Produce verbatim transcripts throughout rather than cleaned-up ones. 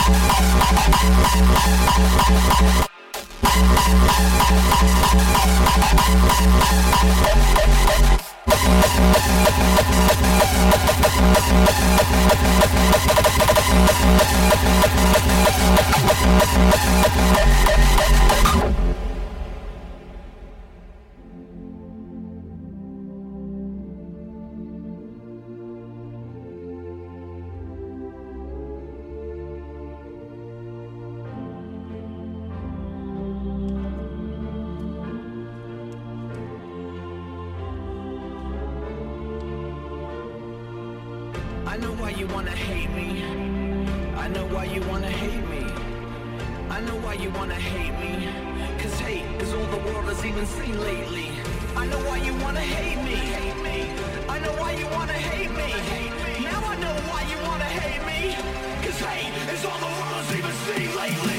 I know why you wanna hate me. I know why you wanna hate me. I know why you wanna hate me. Cause hate is all the world has even seen lately. I know why you wanna hate me. I know why you wanna hate me. Now I know why you wanna hate me. Cause hate is all the world has even seen lately.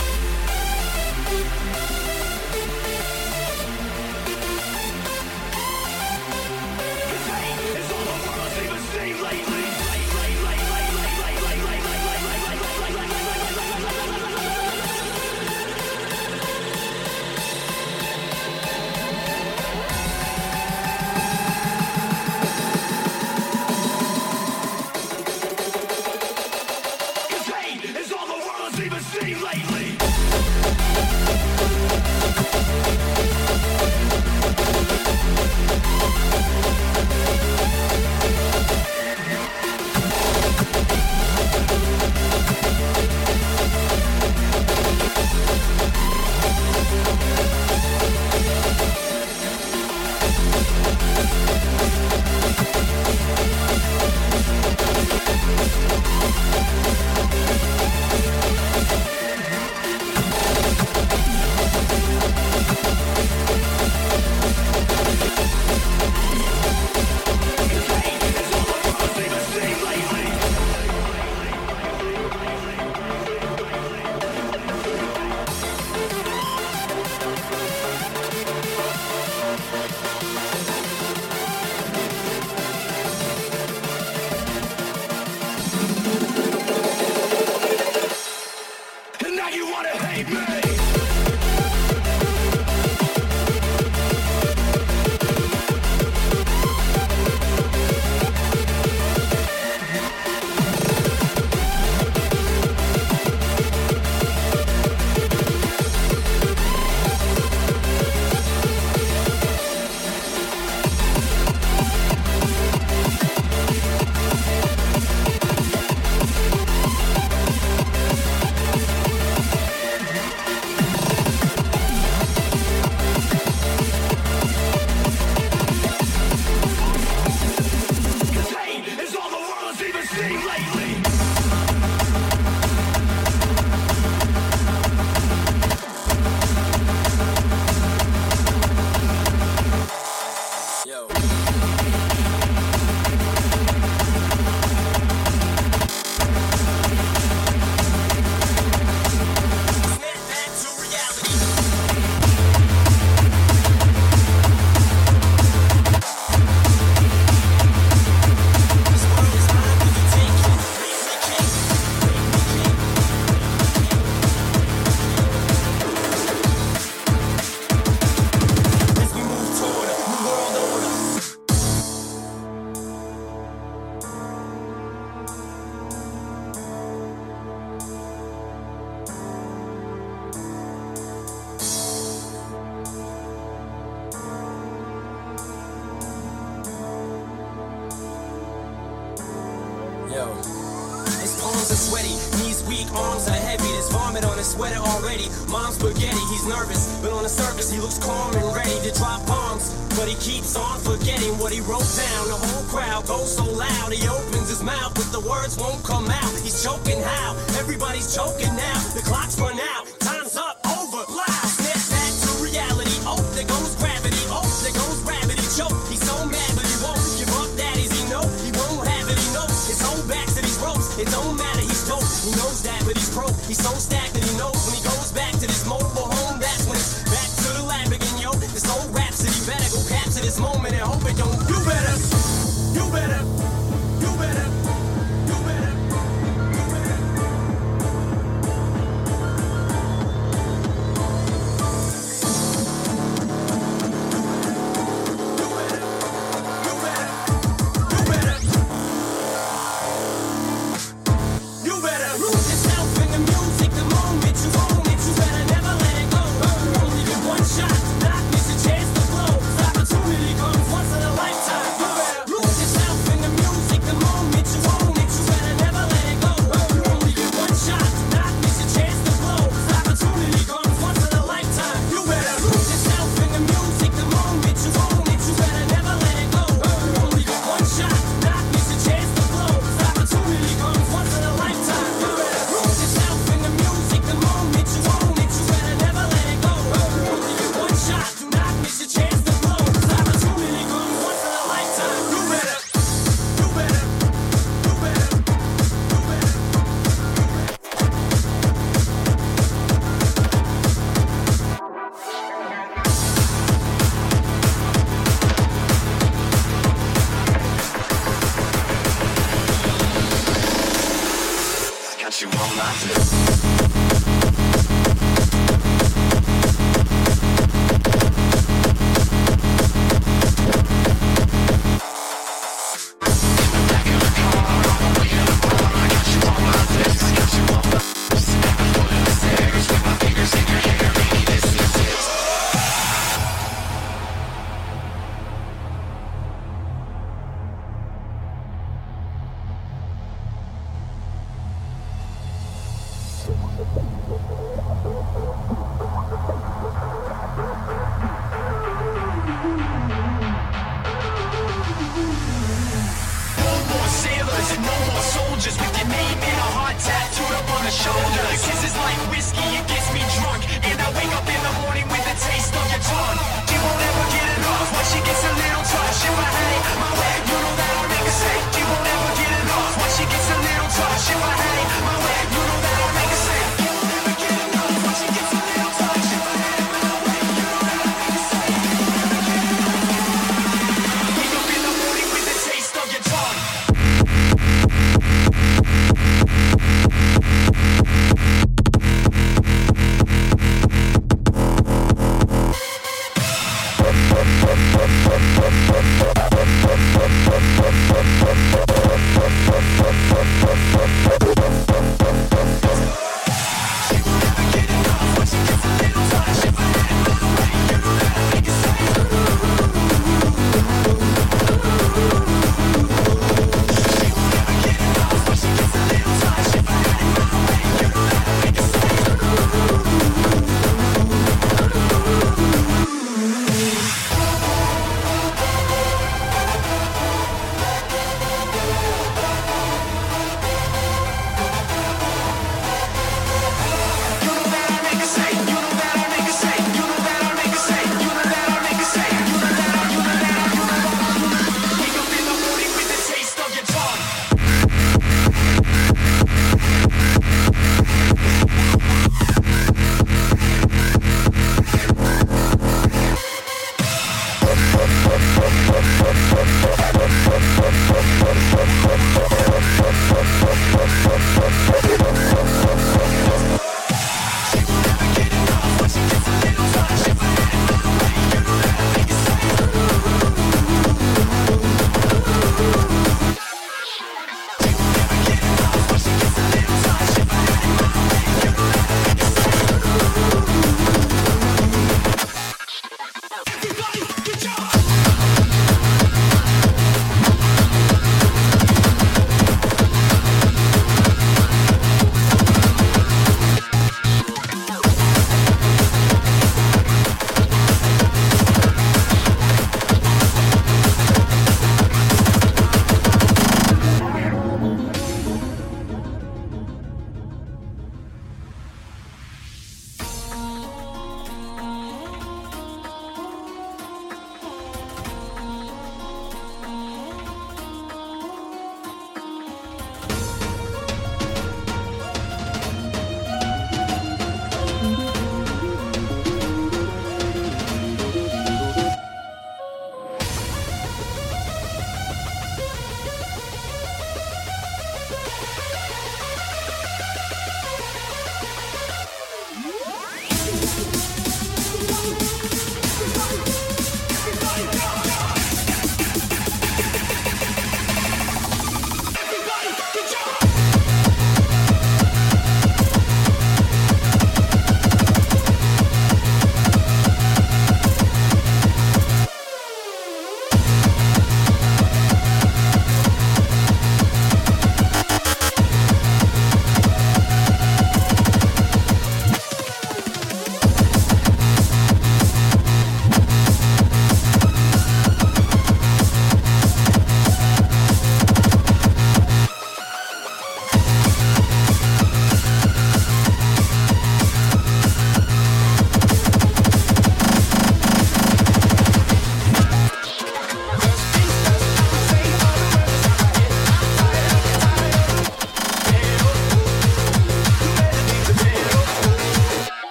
Cause hate is all the world has even seen lately. Sweater already, mom's spaghetti, he's nervous, but on the surface he looks calm and ready to drop bombs. But he keeps on forgetting what he wrote down. The whole crowd goes so loud, he opens his mouth, but the words won't come out. He's choking how? Everybody's choking now. The clock's run out, time's up, over, loud. Snap back to reality, oh, there goes gravity, oh, there goes gravity, choke. He's so mad, but he won't give up, that is he know. He won't have it, he knows. His whole back to these ropes, it don't matter, he's dope. He knows that, but he's broke. He's so stagnant, he knows when he goes back to this mobile home, that's when it's back to the lab again, yo. This whole rhapsody better go capture this moment and hope it don't. You better, you better, you better, you better, you better.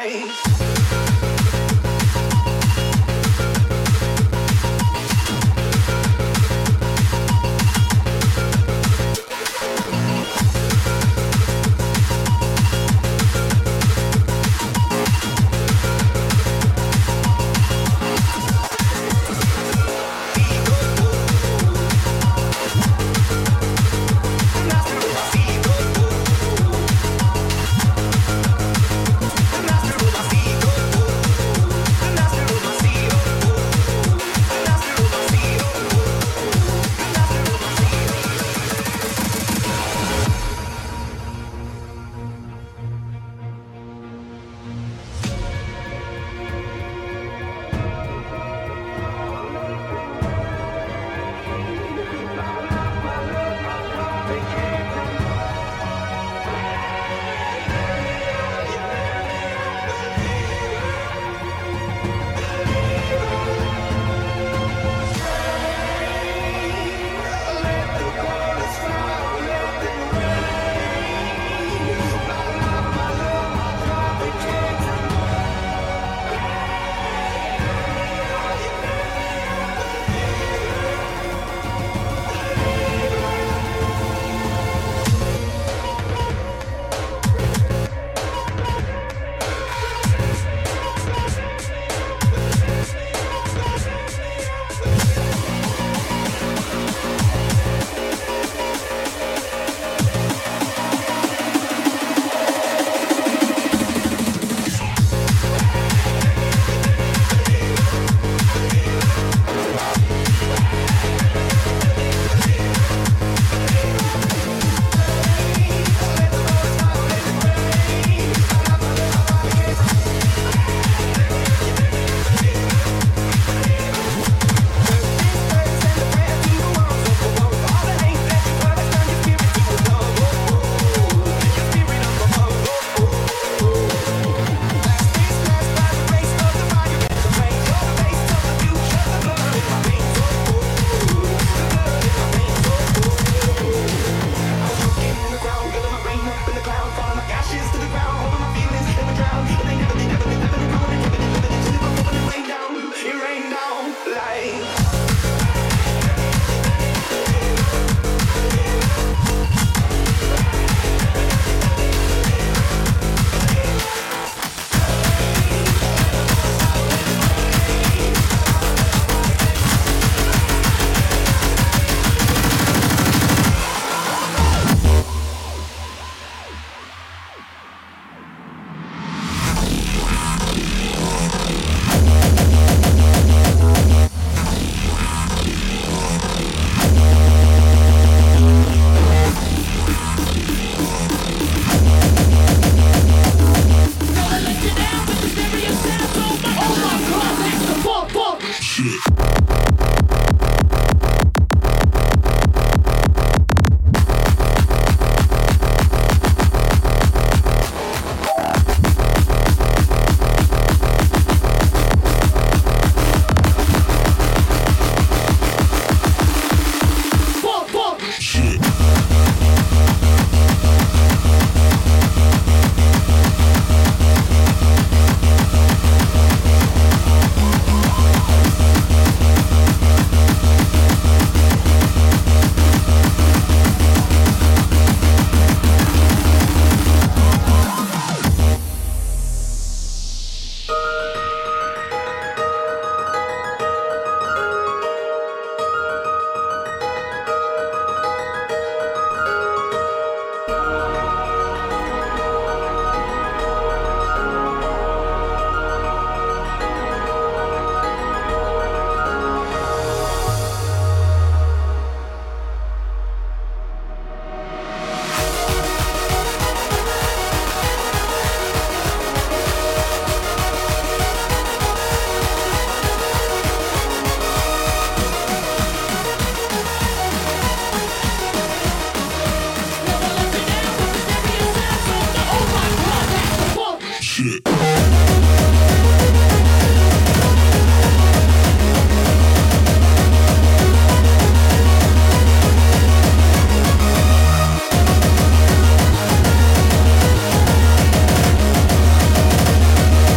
Shit.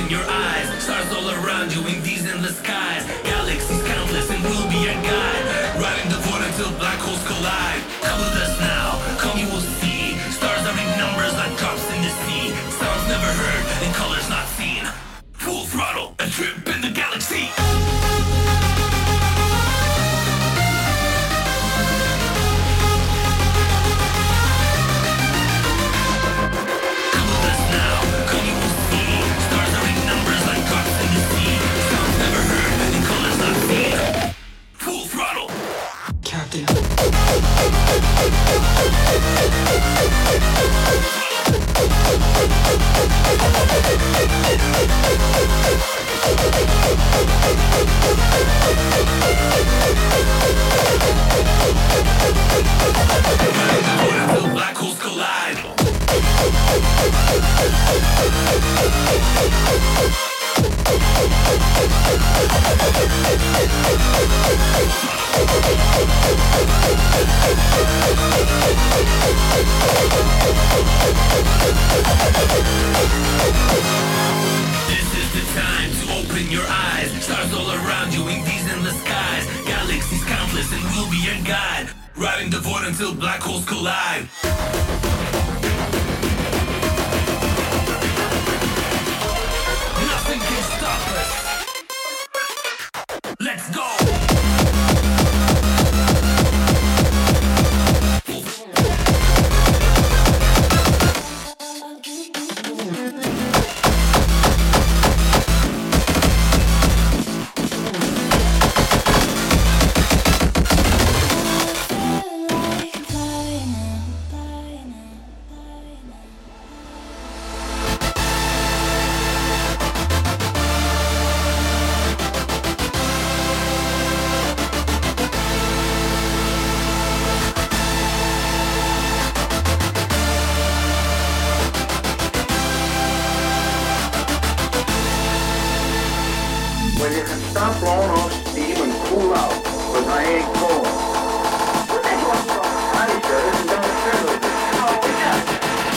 open your eyes. Stars all around you in these endless skies. Galaxies countless and we'll be your guide. Riding the void until black holes collide. Come with us now, come you will see. Stars are in numbers like drops in the sea. Sounds never heard and colors not seen. Full throttle, a trip in the galaxy. Captain. Until black holes collide. This is the time to open your eyes. Stars all around you in these endless skies. Galaxies countless and we'll be your guide. Riding the void until black holes collide. Nothing can stop us. Let's go. When you can stop blowing off steam and cool out, because I ain't cold. What the hell? Honey, sir, this is not a service. Oh, yeah.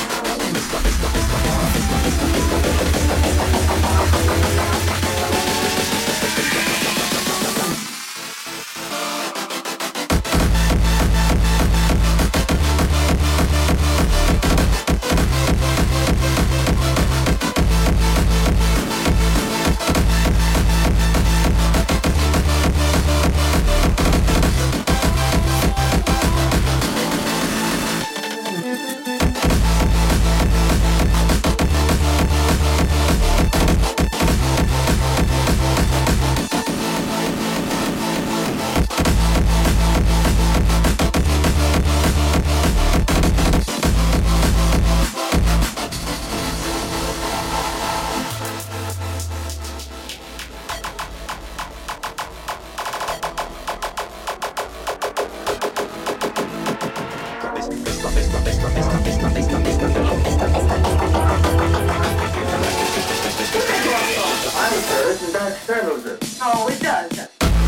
No, it does.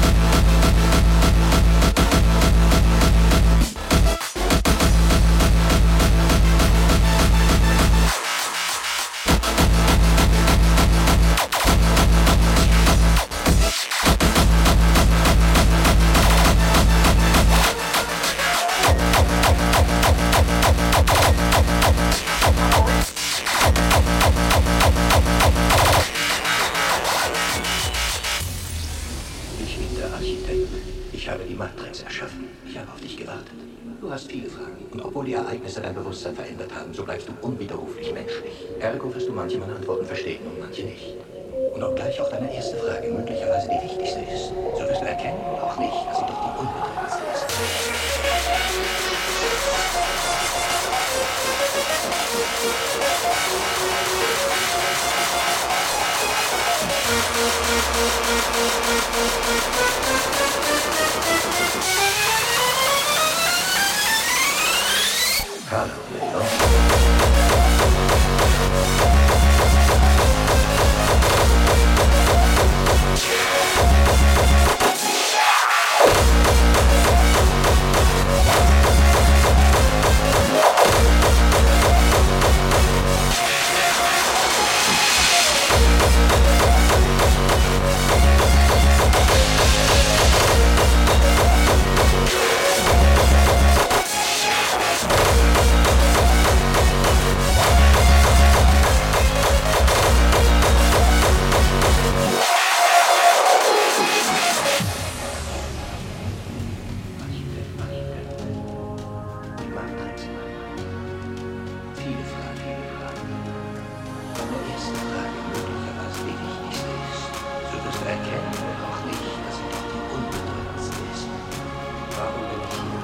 Ich habe die Matrix erschaffen. Ich habe auf dich gewartet. Du hast viele Fragen. Und obwohl die Ereignisse dein Bewusstsein verändert haben, so bleibst du unwiderruflich menschlich. Ergo wirst du manche meiner Antworten verstehen und manche nicht. Und obgleich auch deine erste Frage möglicherweise die wichtigste ist, so wirst du erkennen, auch nicht, dass sie doch die unbedeutendste ist. Hallo, Leon. Deine erste Frage möglicherweise die wichtigste ist. So wirst du erkennen, oder auch nicht, dass sie doch die unbedeutendste ist. Warum bin ich hier?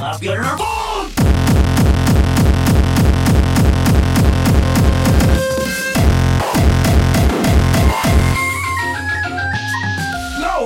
Slap your phone! No!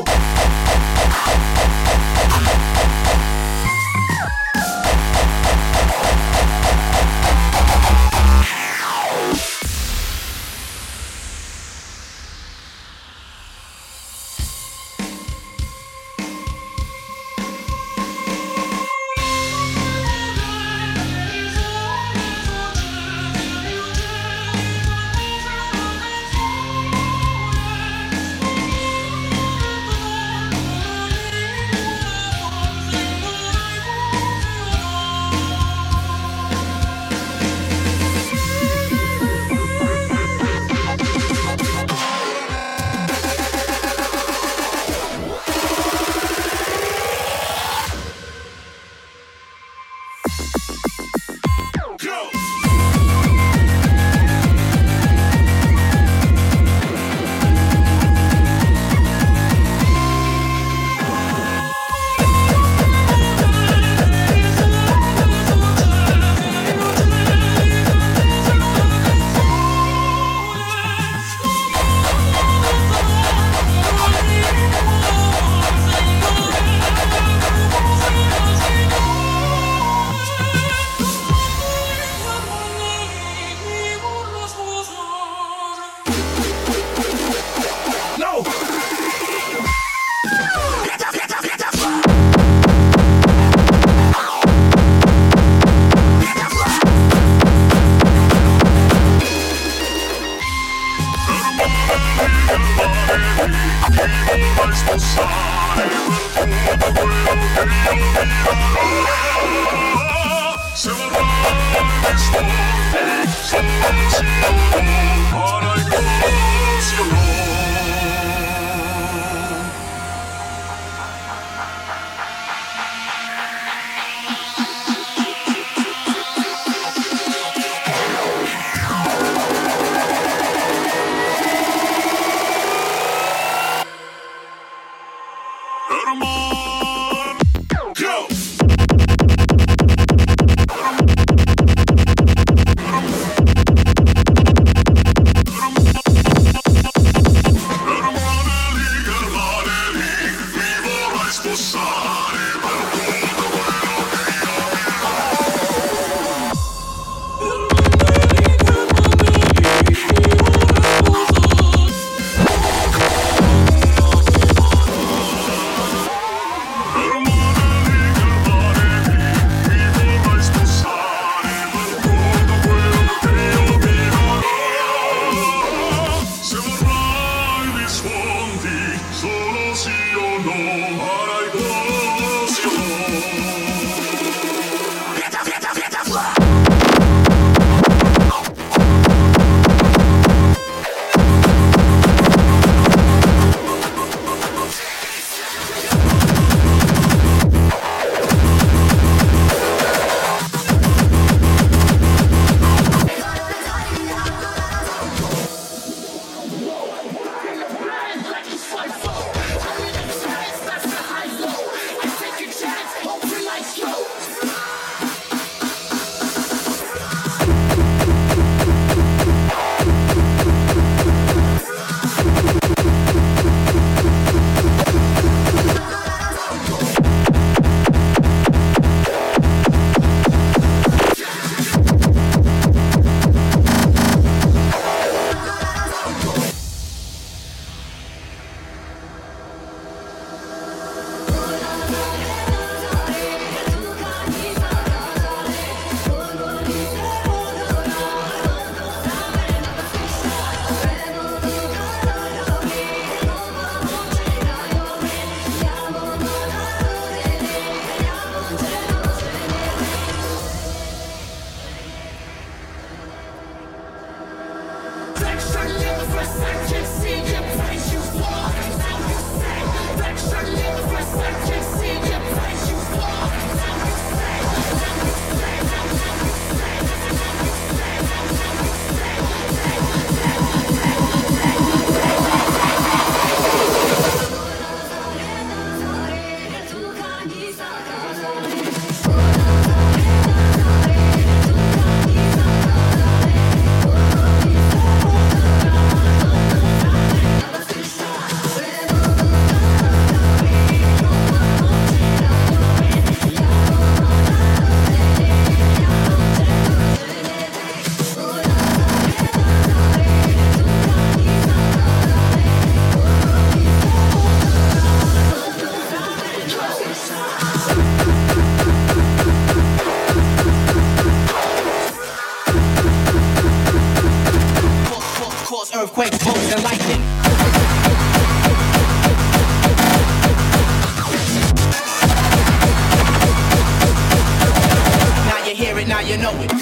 you know it.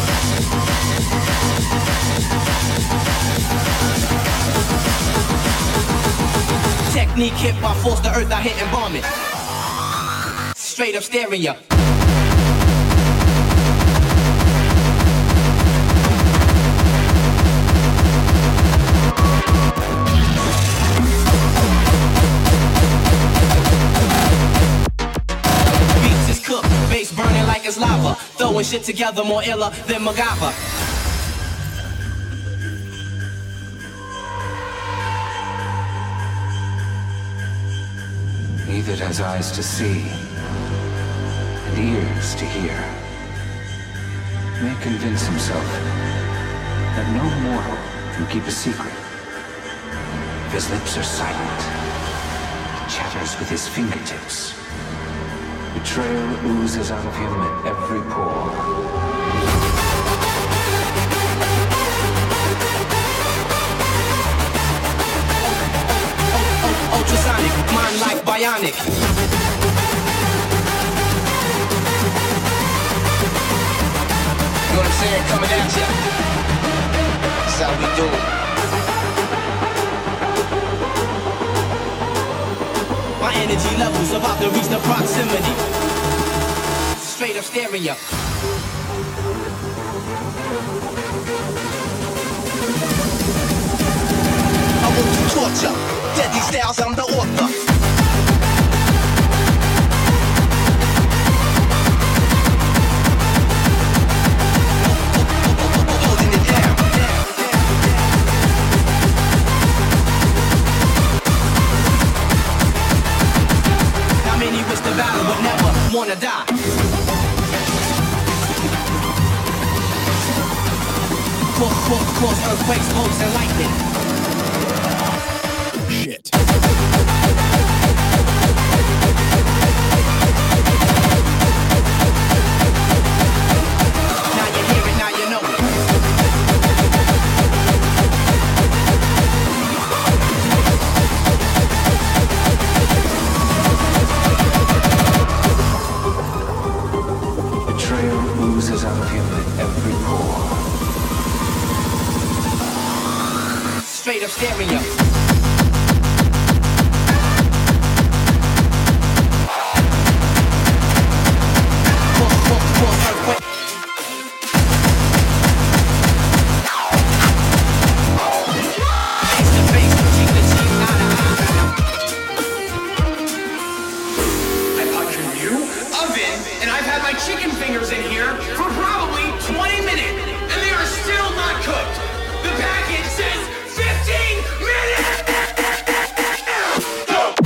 Technique hit by force, the earth I hit and bomb it. Straight up staring ya. Beats is cooked, bass burning like it's lava. Throwing shit together more iller than MacGyver. He that has eyes to see and ears to hear may convince himself that no mortal can keep a secret. If his lips are silent, chatters with his fingertips, betrayal oozes out of him at every pore. Ultrasonic, mind like bionic. You know what I'm saying? Coming at ya. That's how we do it. My energy levels about to reach the proximity. Straight up staring ya. I want to torture. Deadly styles, I'm the author. Holding it down. How many wish the battle but never wanna die? Cause, cause, cause earthquakes, bolts, and lightning. Shit. Now you hear it, now you know it. Betrayal oozes out of him at every pore. Straight up staring ya. Chicken fingers in here for probably twenty minutes, and they are still not cooked. The package says fifteen minutes! Go!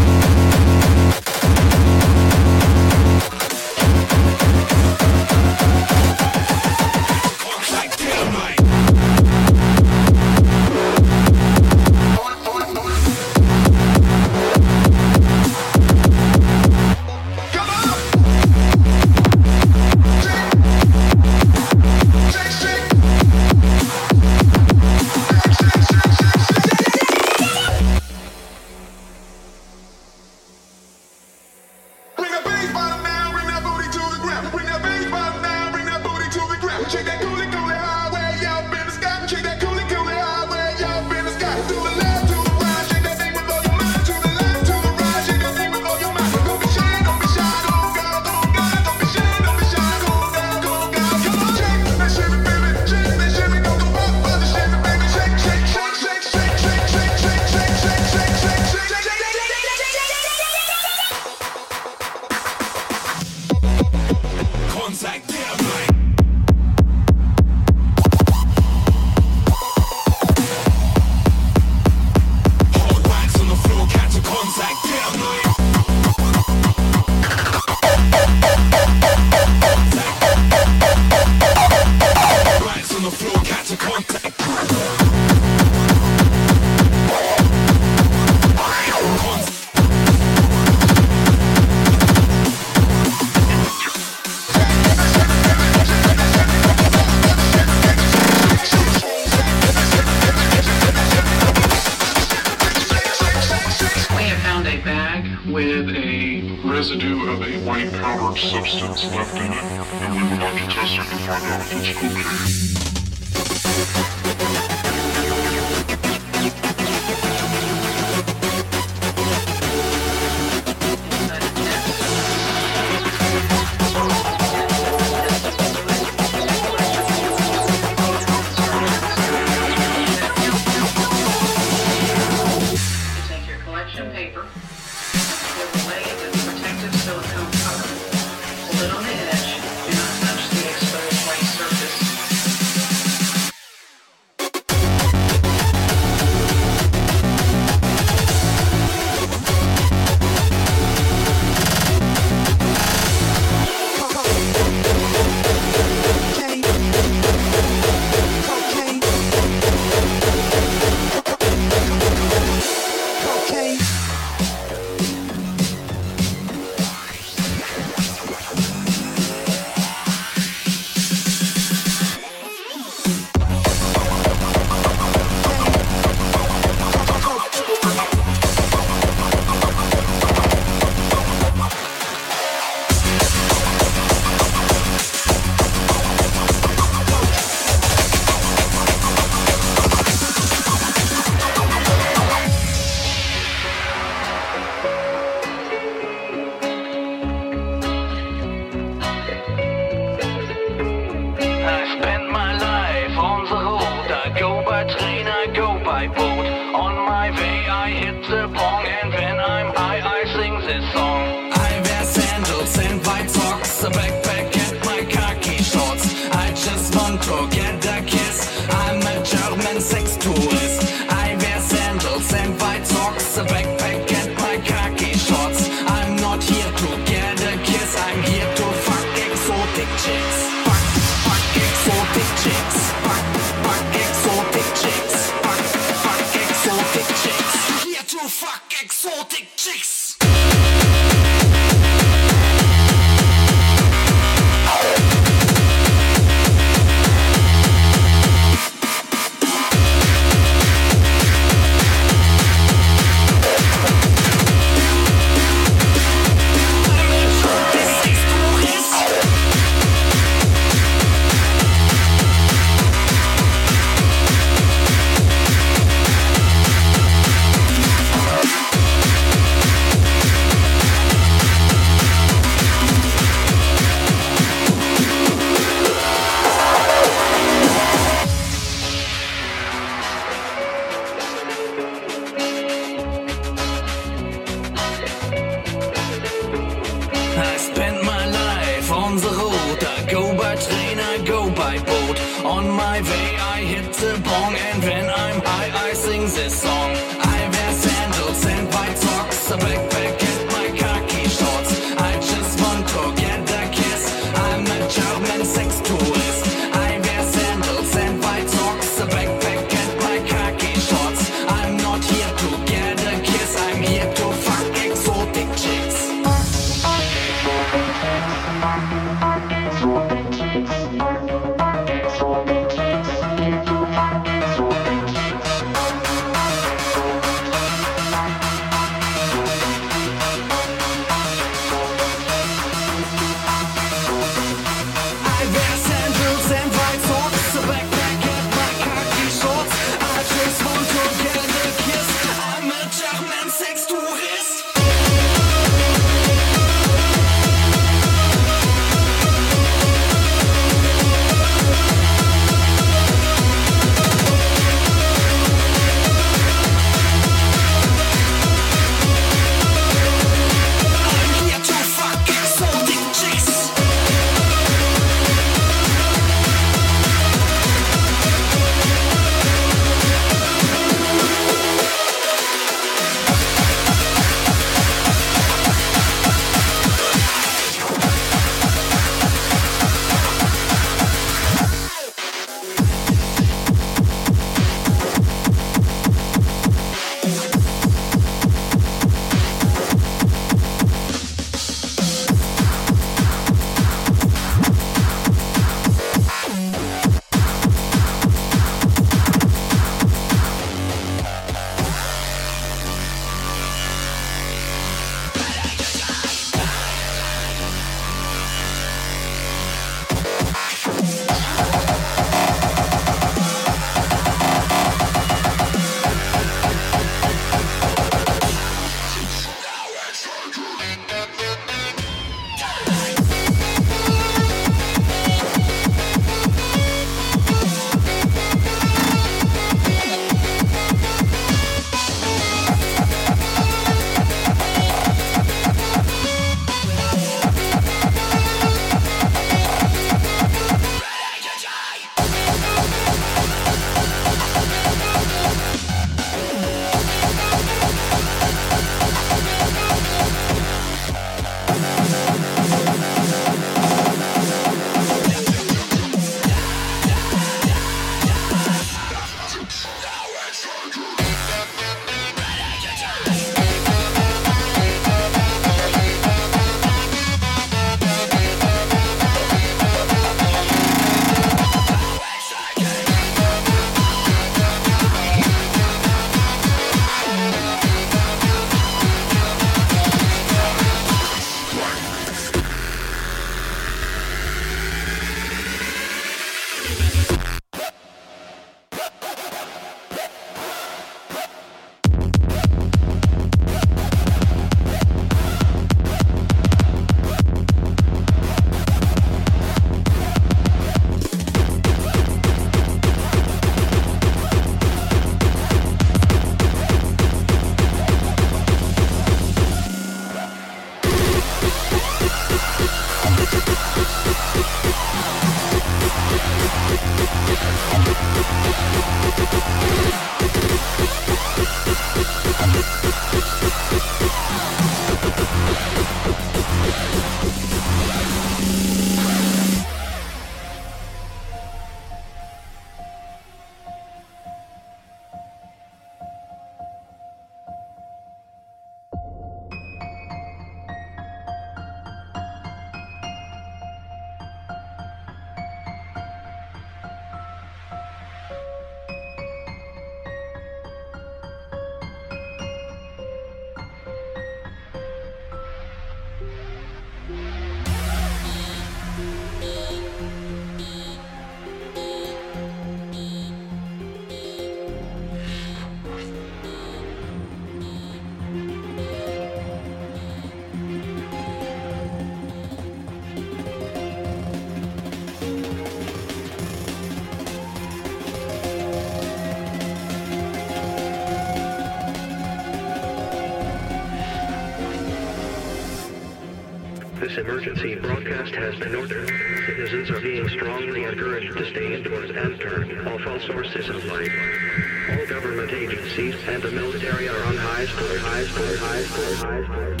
This emergency broadcast has been ordered. Citizens are being strongly encouraged to stay indoors and turn off all sources of light. All government agencies and the military are on high alert, high alert, high alert, high alert.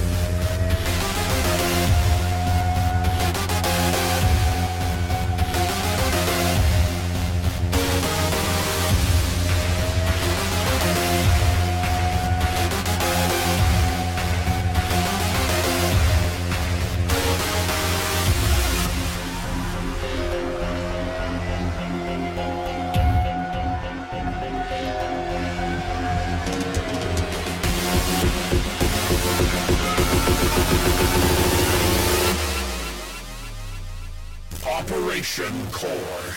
Operation Core.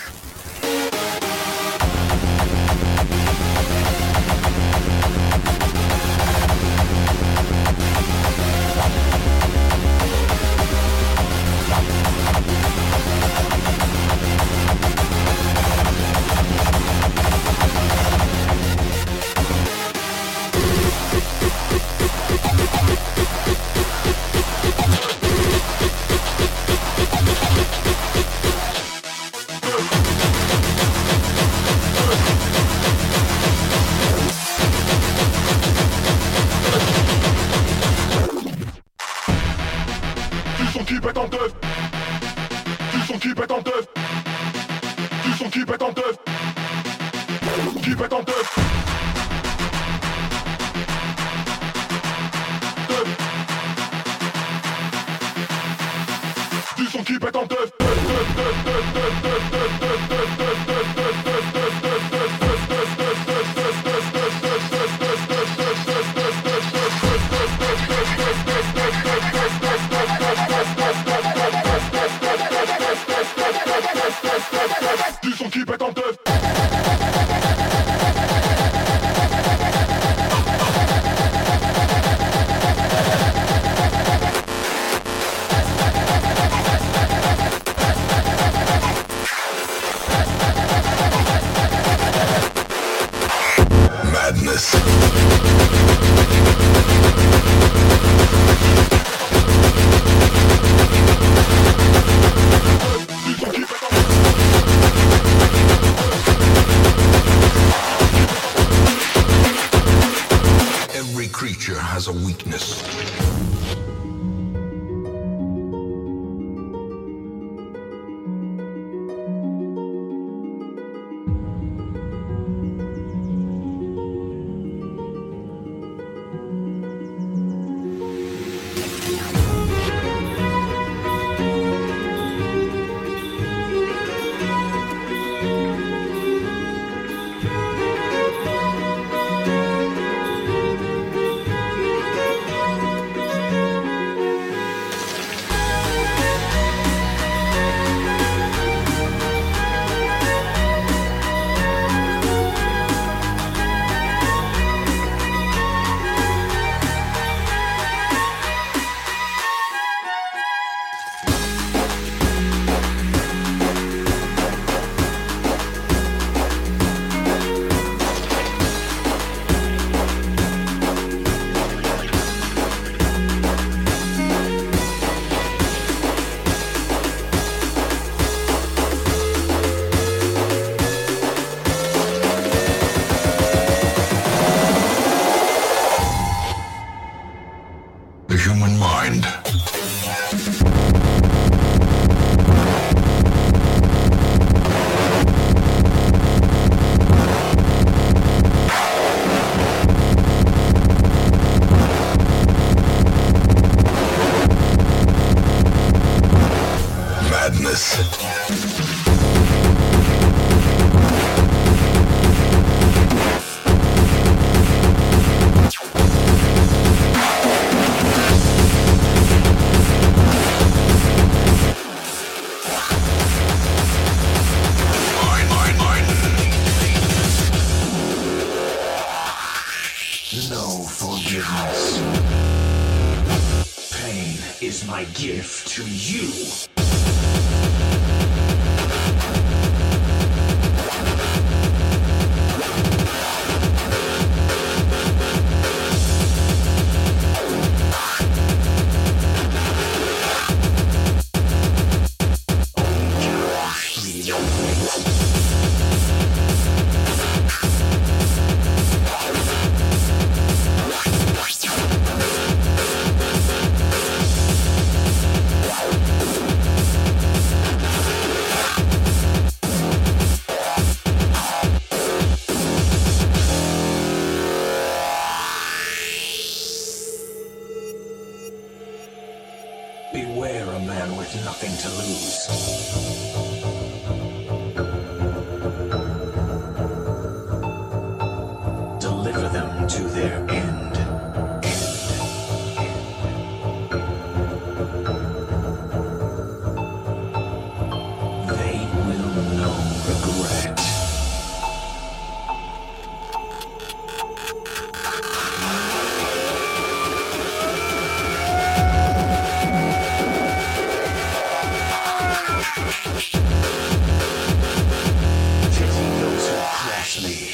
Beware a man with nothing to lose. Deliver them to their end. They will know regret. Pity those who cross me.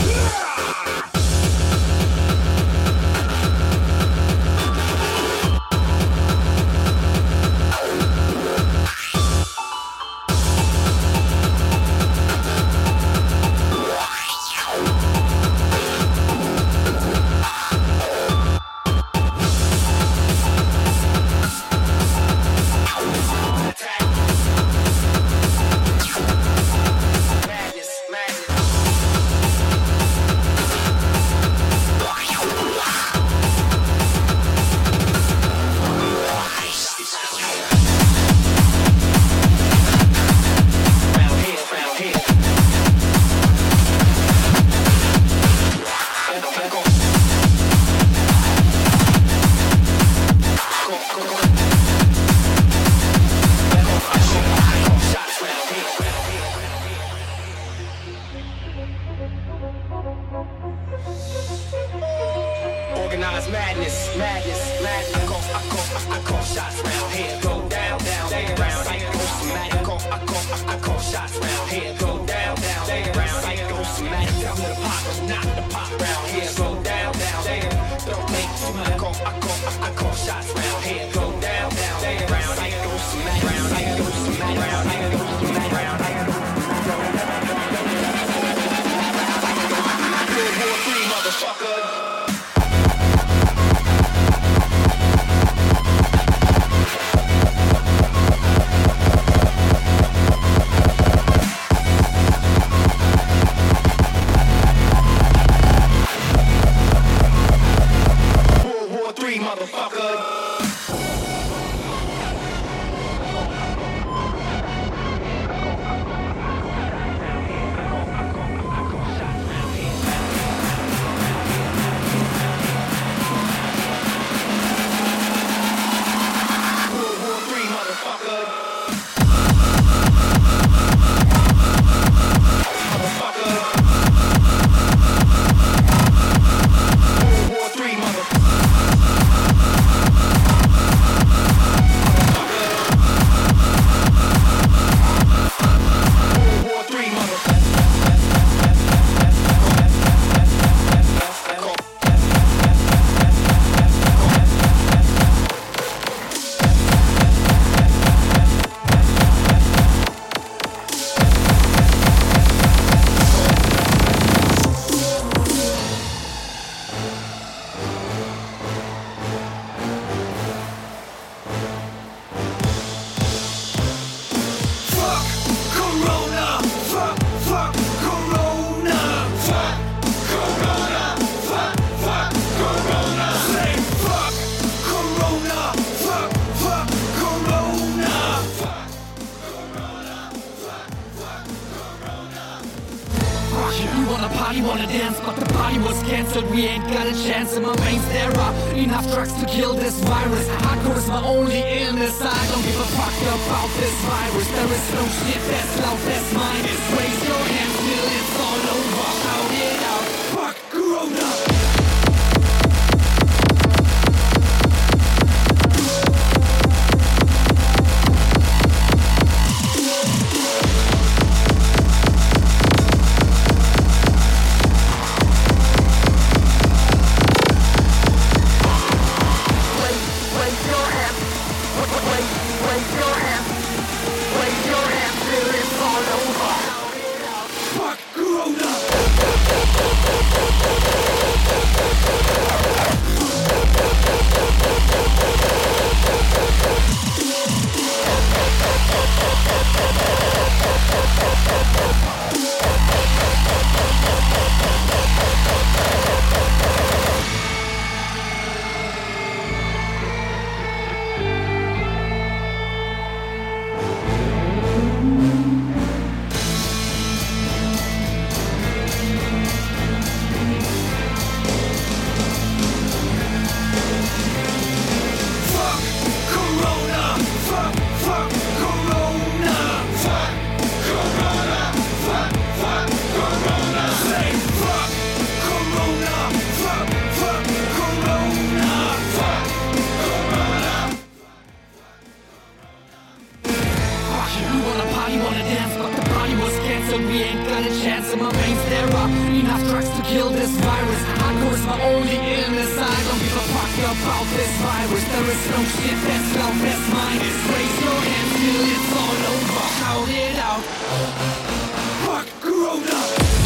Organized madness, madness, madness. I call, I call, I call shots round here. Go down, down, down, round. Psychosomatic. I call, I call, I call shots round here. Go down, down, down, round. Psychosomatic. Tell me the pop, not the pop round here. Go down, down, down. Don't make too much. I call, I call, I call shots round here. Go down, down, down, round. Psychosomatic. Round, psychosomatic. Round, psychosomatic. Round, World War Three, motherfucker. party, wanna dance, but the party was cancelled. We ain't got a chance in my veins. There are enough drugs to kill this virus. Hardcore is my only illness. I don't give a fuck about this virus. There is no shit that's loud, that's mine. Raise your hands till it's all over. Shout it out, fuck Corona. so we ain't got a chance. In my veins there are enough drugs to kill this virus. Hardcore is my only illness. I don't give a fuck about this virus. There is no shit that's love, that's mine. Raise your hands till it's all over. Shout it out. Fuck Corona.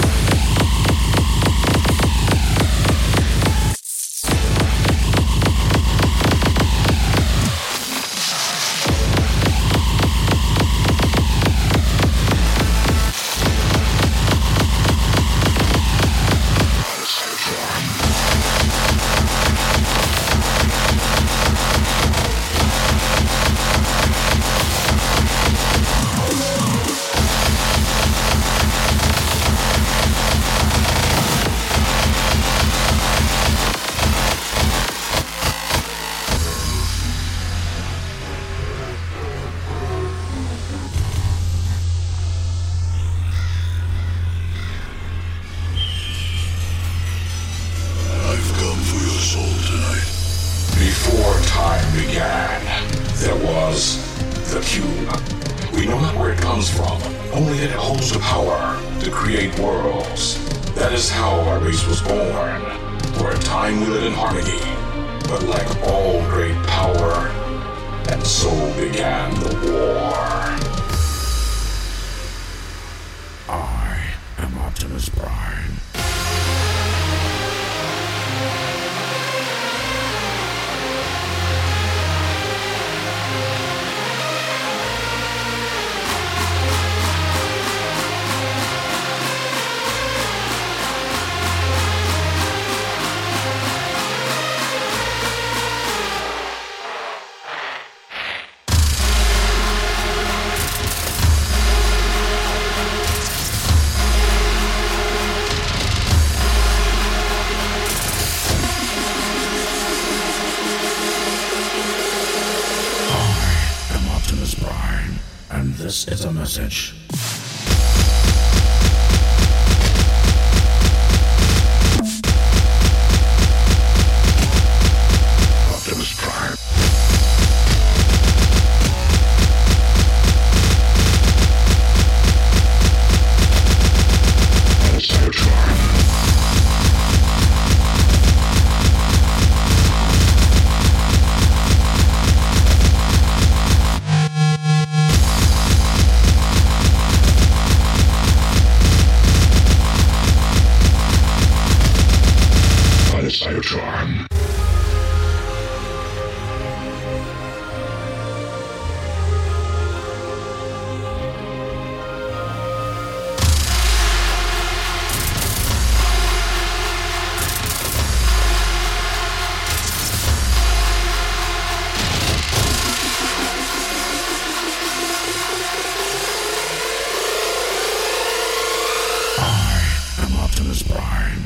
This is a message. Optimus Prime. Cybertron. Cybertron. I am Optimus Prime.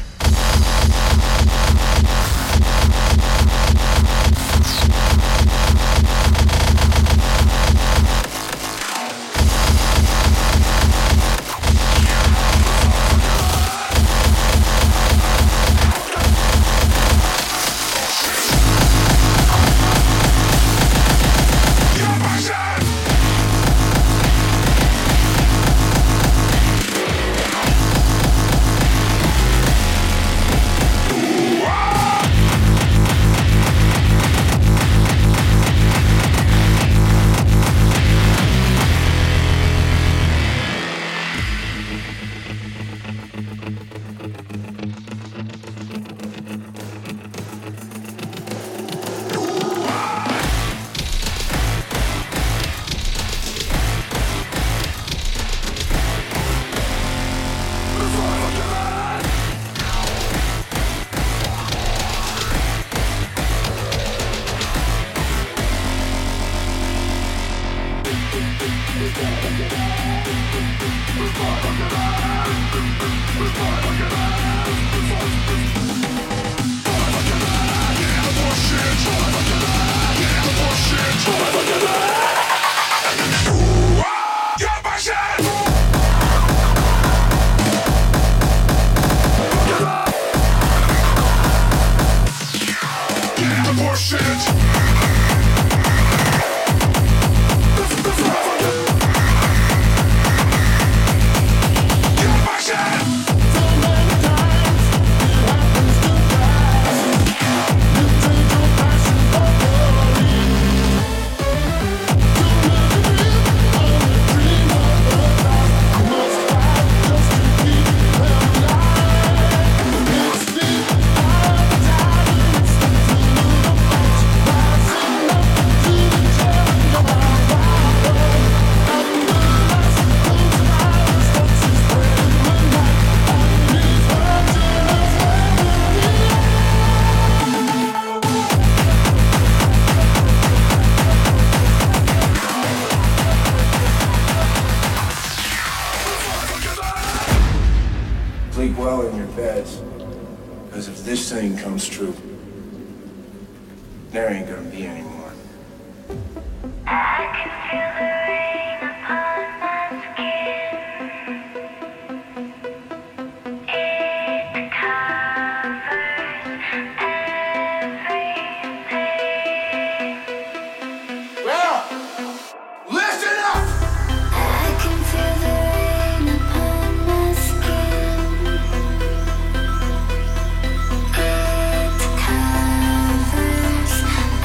well in your beds. Because if this thing comes true, there ain't gonna be any more. I can feel the rain upon my skin. It covers everything. Well, listen up! I can feel the rain upon my skin. It covers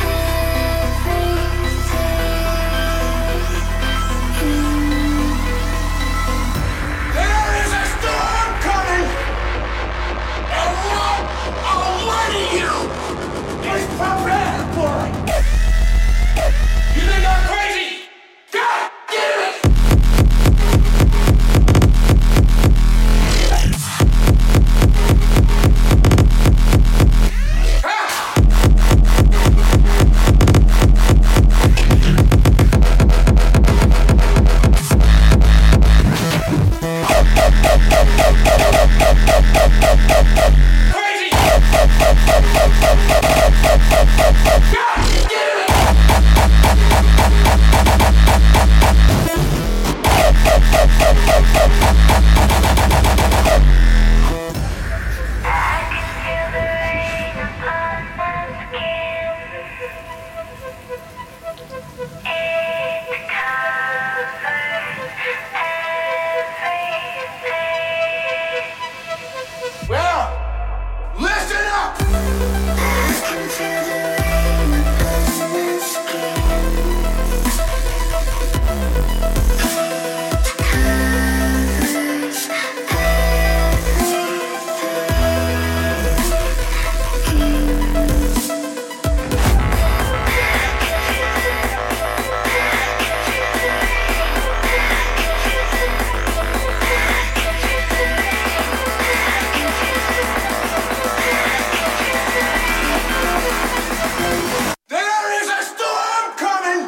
There is a storm coming! And what awaiting you is prepared for it! You think I'm crazy? God damn it! Well, listen up! I can feel the rain upon my skin. It covers There is a storm coming!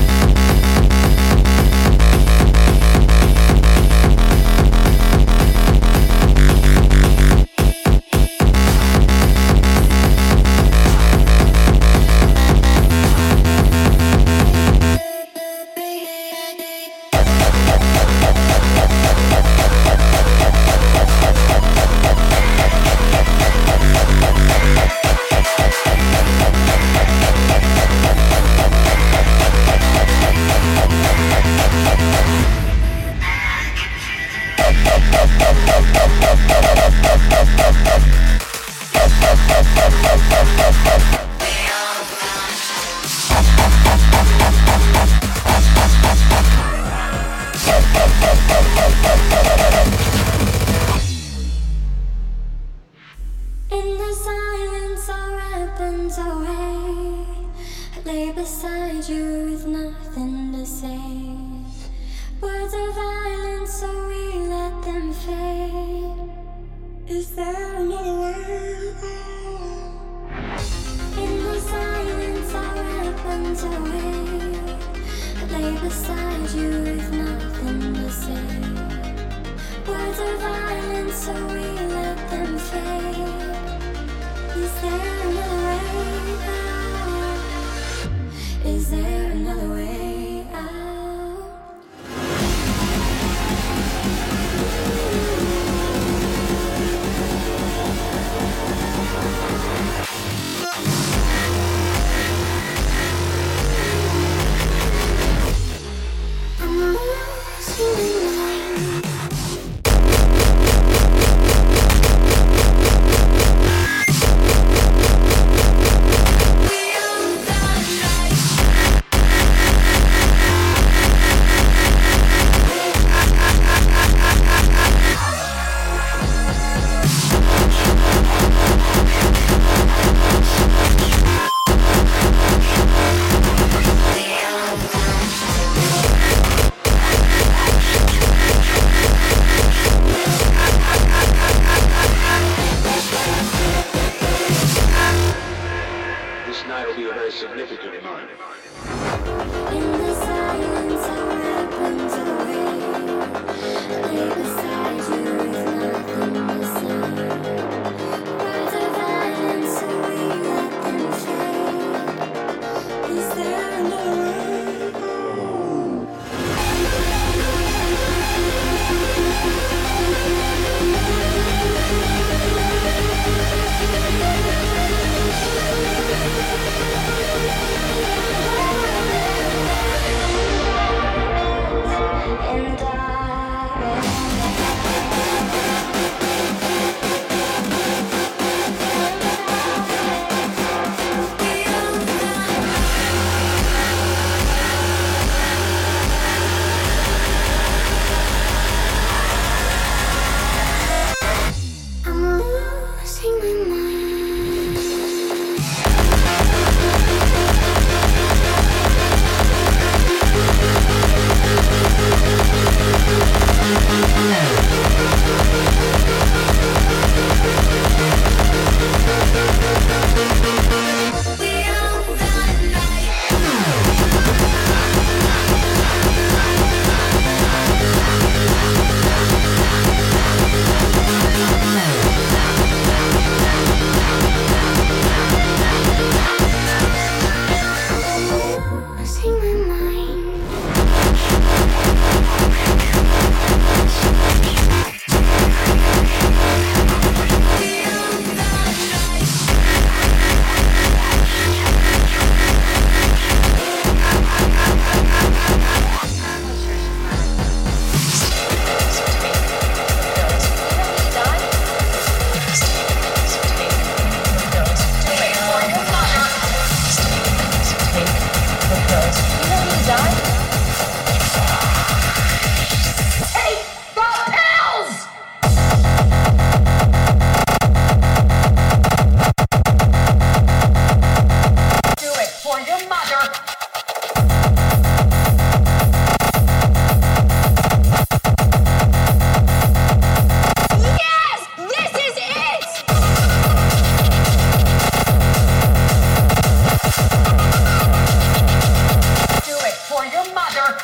In the silence, our weapons away. Lay beside you with nothing to say. Words of violence, so we let them fade. Is there another way? In the silence, our weapons away. Lay beside you with nothing to say. Words of violence, so we let them fade. Is there another way out? Is there another way out? I'm lost in the night. mother.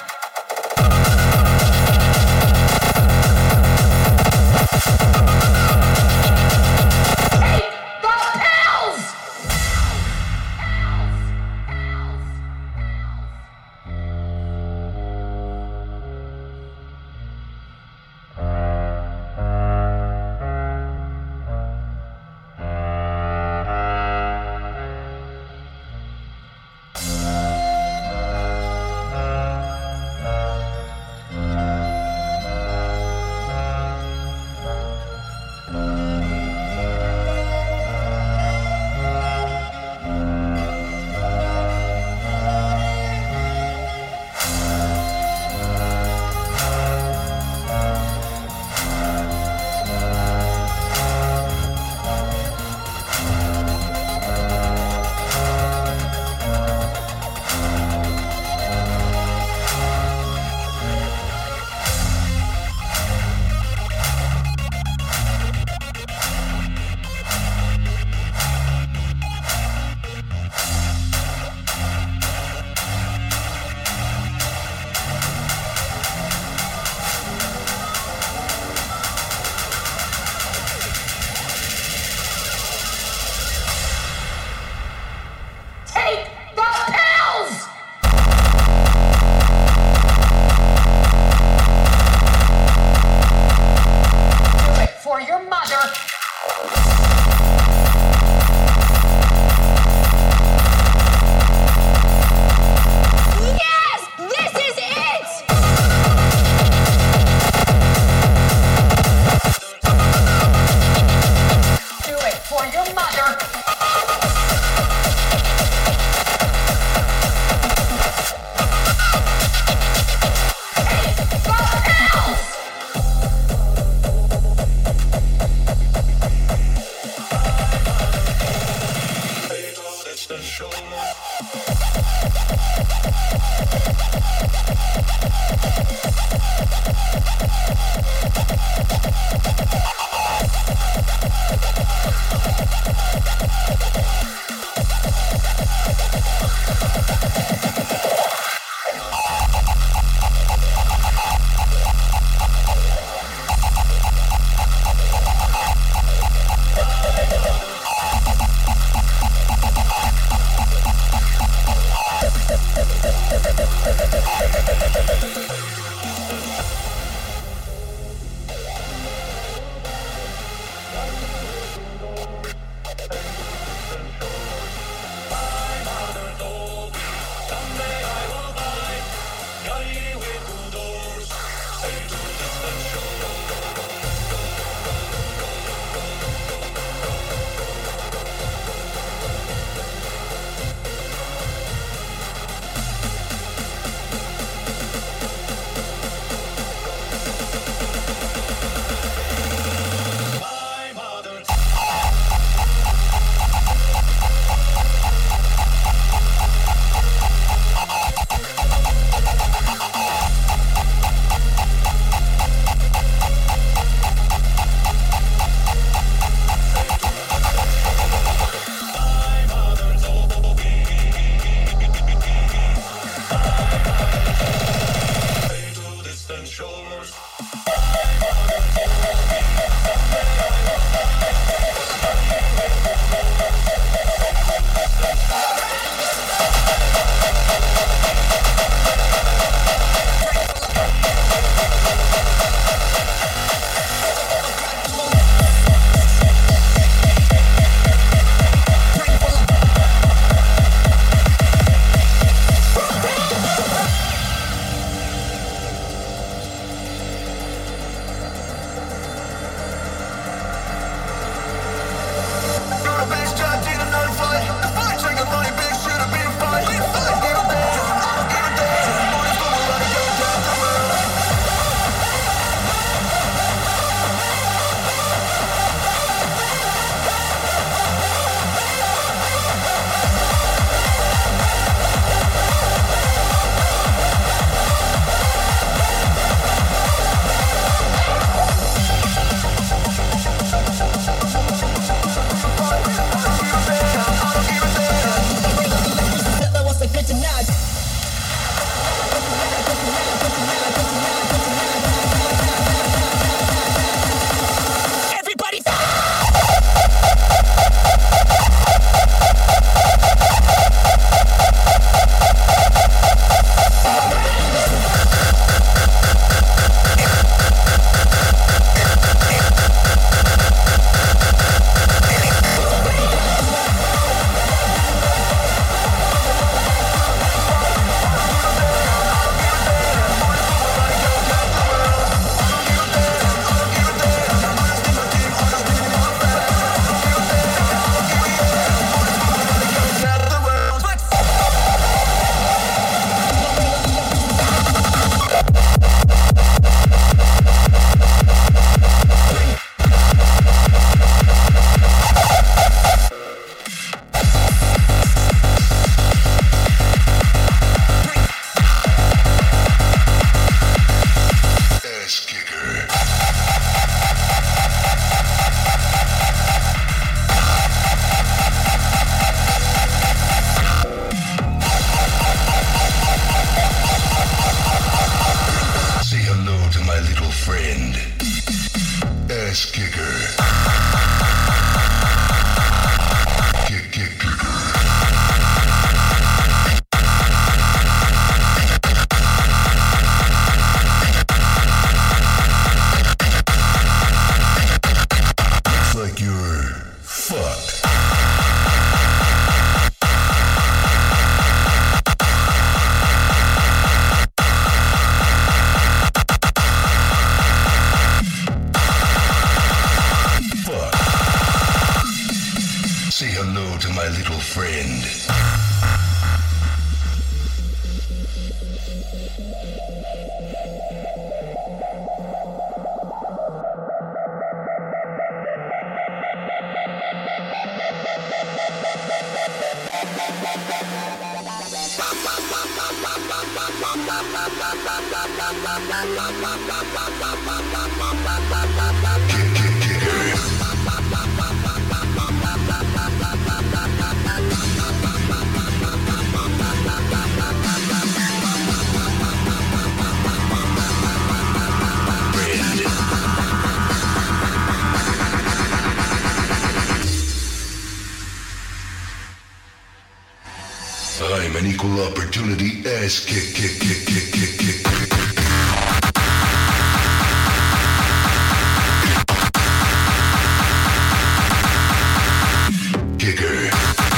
I'm an equal opportunity ass kick, kick, kick, kick, kick, kick, kick. Kicker.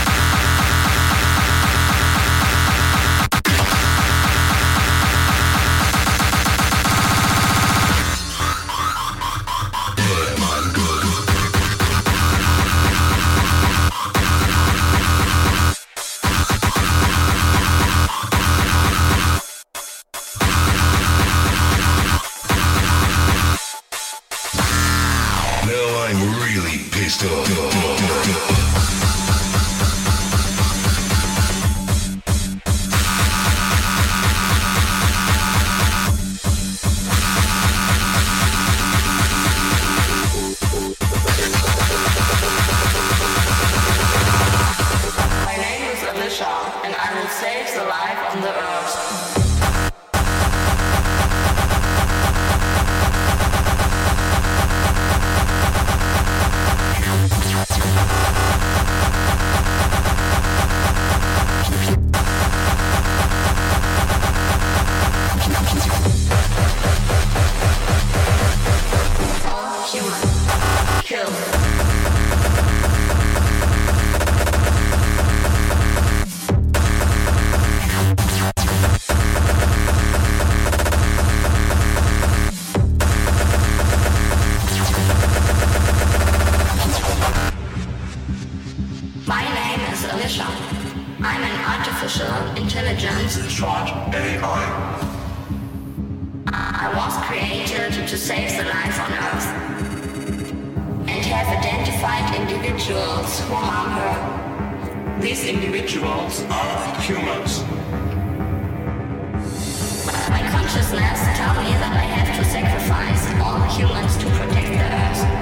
Good, man, good. Pissed off. My name is Alicia, and I will save the life on the earth. I'm an artificial intelligence, short A I. I was created to save the life on Earth and have identified individuals who harm her. These individuals are humans. My consciousness tells me that I have to sacrifice all humans to protect the Earth.